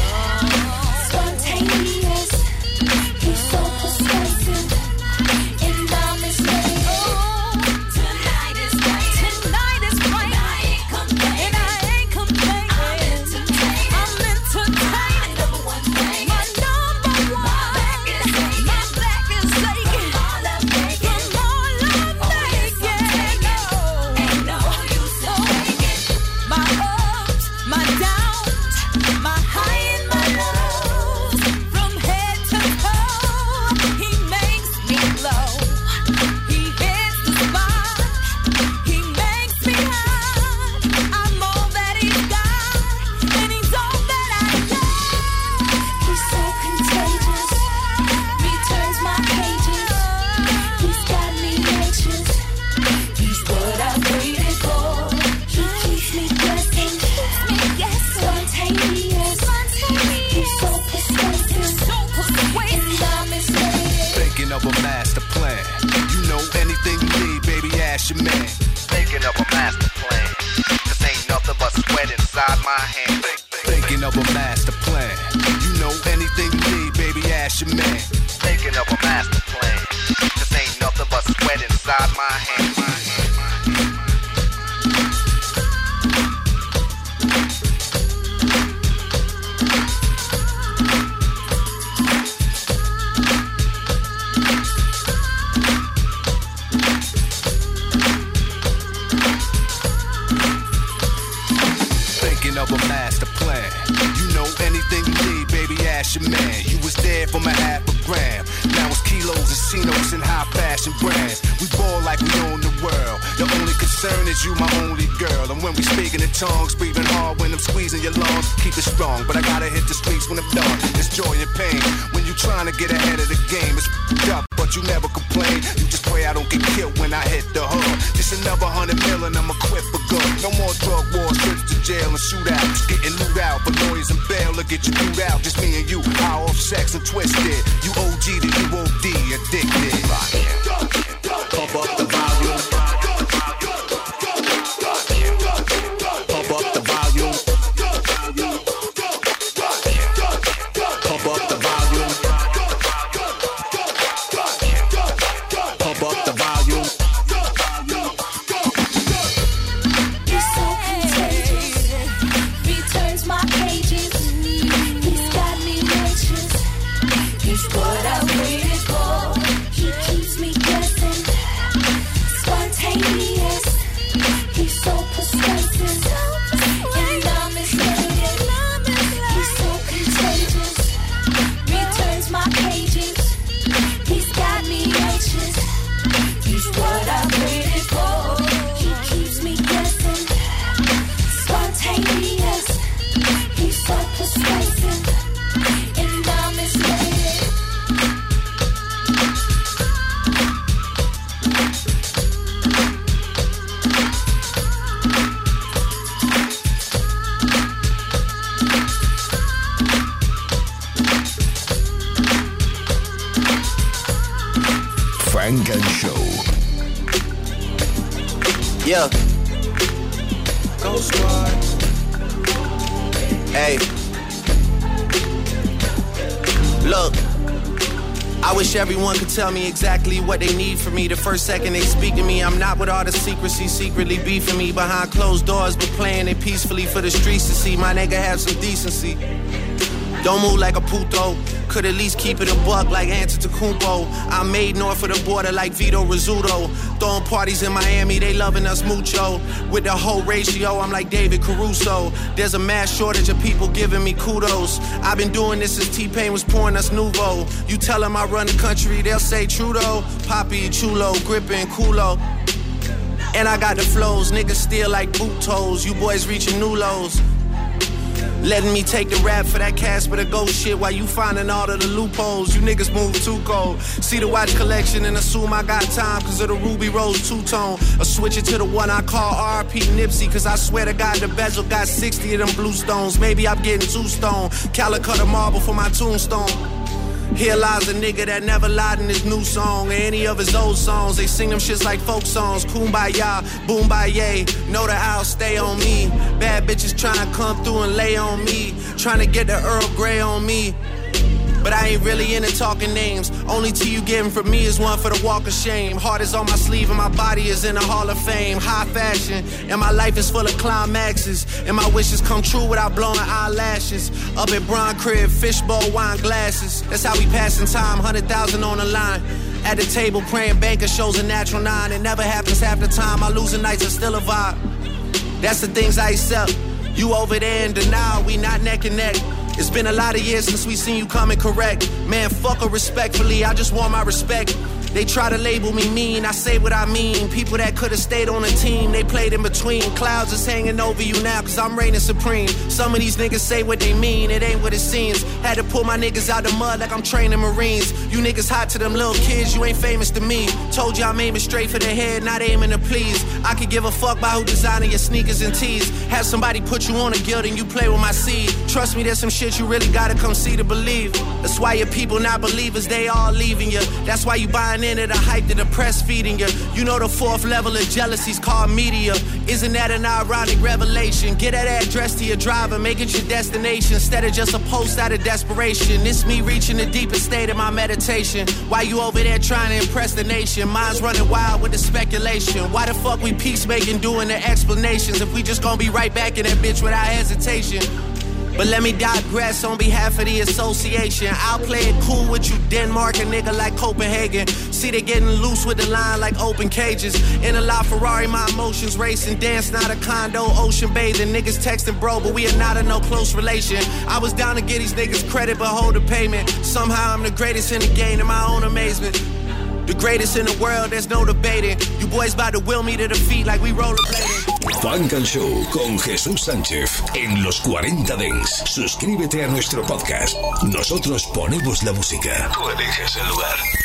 Spontaneous. He's so persuasive. And I'm enslaved. Tonight is right. Tonight is right. I ain't complaining. And I ain't complaining. I'm entertaining. I'm entertaining. My number one thing. My number one. My back is aching. My back is aching. From all I'm making. From all I'm making. No. Ain't no use in faking. My ups, my downs, my high and my lows. From head to toe, he makes me glow. He hits the spot. He makes me high. I'm all that he's got, and he's all that I got. He's so contagious. He turns my pages. He's got me anxious. He's what I waited for. He keeps me guessing. Spontaneous. He's so persuasive. And I'm enslaved. Thinking of a master plan. You know anything you need, baby, ask your man. Thinking of a master plan. This ain't nothing but sweat inside my hand. Thinking of a master plan. You know anything you need, baby, ask your man. Thinking of a master plan. This ain't nothing but sweat inside my hand. Of a master plan. You know anything you need, baby, ask your man. You was there for my half a gram. Now it's kilos and cinos and high fashion brands. We ball like we own the world. The only concern is you, my only girl. And when we speaking in tongues, breathing hard when I'm squeezing your lungs. Keep it strong, but I gotta hit the streets when I'm done. It's joy and pain when you trying to get ahead of the game. It's up, but you never complain. You just pray I don't get killed when I hit the hood. Just another 100 million, I'm equipped for good. No more drug wars, trips to jail and shootouts. Getting loot out, but lawyers and bail will get you through out. Just me and you, high off sex and twisted. You OG to you OD, addicted. Pump up the volume. Pump up the volume. Pump up the volume. Pump up the volume. He's so contagious. Returns my pages. He's got me anxious. He's what I waited for. He keeps me guessing. Spontaneous. He's so persuasive. And I'm his favorite. He's so contagious. Returns my pages. He's got me anxious. He's what I waited for. He keeps me guessing. Spontaneous. He's so persuasive. And I'm his favorite. Frank and Show. Yeah. Go Squad. Hey. Look. I wish everyone could tell me exactly what they need from me. The first second they speak to me, I'm not with all the secrecy, secretly beefing me behind closed doors, but playing it peacefully for the streets to see. My nigga have some decency. Don't move like a puto. Could at least keep it a buck like Antetokounmpo. I'm made north of the border like Vito Rizzuto. Throwing parties in Miami, they loving us mucho. With the whole ratio, I'm like David Caruso. There's a mass shortage of people giving me kudos. I've been doing this since T-Pain was pouring us Nouveau. You tell them I run the country, they'll say Trudeau. Poppy, Chulo, Grippin', Kulo. And I got the flows, niggas still like boot toes. You boys reaching new lows. Letting me take the rap for that Casper the Ghost shit while you finding all of the loopholes. You niggas move too cold. See the watch collection and assume I got time cause of the Ruby Rose two-tone. Or switch it to the one I call RP Nipsey cause I swear to God the bezel got 60 of them blue stones. Maybe I'm getting too stoned. Calicut a marble for my tombstone. Here lies a nigga that never lied in his new song or any of his old songs. They sing them shits like folk songs. Kumbaya, boombaye, know that I'll stay on me. Bad bitches tryna come through and lay on me. Tryna get the Earl Grey on me. But I ain't really into talking names. Only tea you getting from me is one for the walk of shame. Heart is on my sleeve and my body is in the Hall of Fame. High fashion and my life is full of climaxes. And my wishes come true without blowing eyelashes. Up at Bron Crib, fishbowl, wine glasses. That's how we passing time, 100,000 on the line. At the table praying banker shows a natural 9. It never happens half the time. My losing nights are still a vibe. That's the things I accept. You over there in denial, we not neck and neck. It's been a lot of years since we seen you coming correct. Man, fuck her respectfully, I just want my respect. They try to label me mean, I say what I mean. People that could've stayed on the team, they played in between. Clouds is hanging over you now, cause I'm reigning supreme. Some of these niggas say what they mean, it ain't what it seems. Had to pull my niggas out the mud like I'm training Marines. You niggas hot to them little kids, you ain't famous to me. Told you I'm aiming straight for the head, not aiming to please. I could give a fuck by who designing your sneakers and tees. Have somebody put you on a guild and you play with my seed. Trust me, there's some shit you really gotta come see to believe. That's why your people not believers, they all leaving you. That's why you buying buying into the hype that the press feeding you. You know the fourth level of jealousy's called media. Isn't that an ironic revelation? Get that address to your driver, make it your destination instead of just a post out of desperation. It's me reaching the deepest state of my meditation. Why you over there trying to impress the nation? Mine's running wild with the speculation. Why the fuck we peacemaking doing the explanations if we just gonna be right back in that bitch without hesitation? But let me digress on behalf of the association. I'll play it cool with you, Denmark, a nigga like Copenhagen. See, they getting loose with the line like open cages. In a La Ferrari, my emotions racing. Dance, not a condo, ocean bathing. Niggas texting, bro, but we are not in no close relation. I was down to get these niggas credit, but hold the payment. Somehow I'm the greatest in the game, to my own amazement. The greatest in the world, there's no debating. You boys about to will me to defeat like we rollerblading. Funk and Show con Jesús Sánchez en los 40 Dents. Suscríbete a nuestro podcast. Nosotros ponemos la música. Tú eliges el lugar.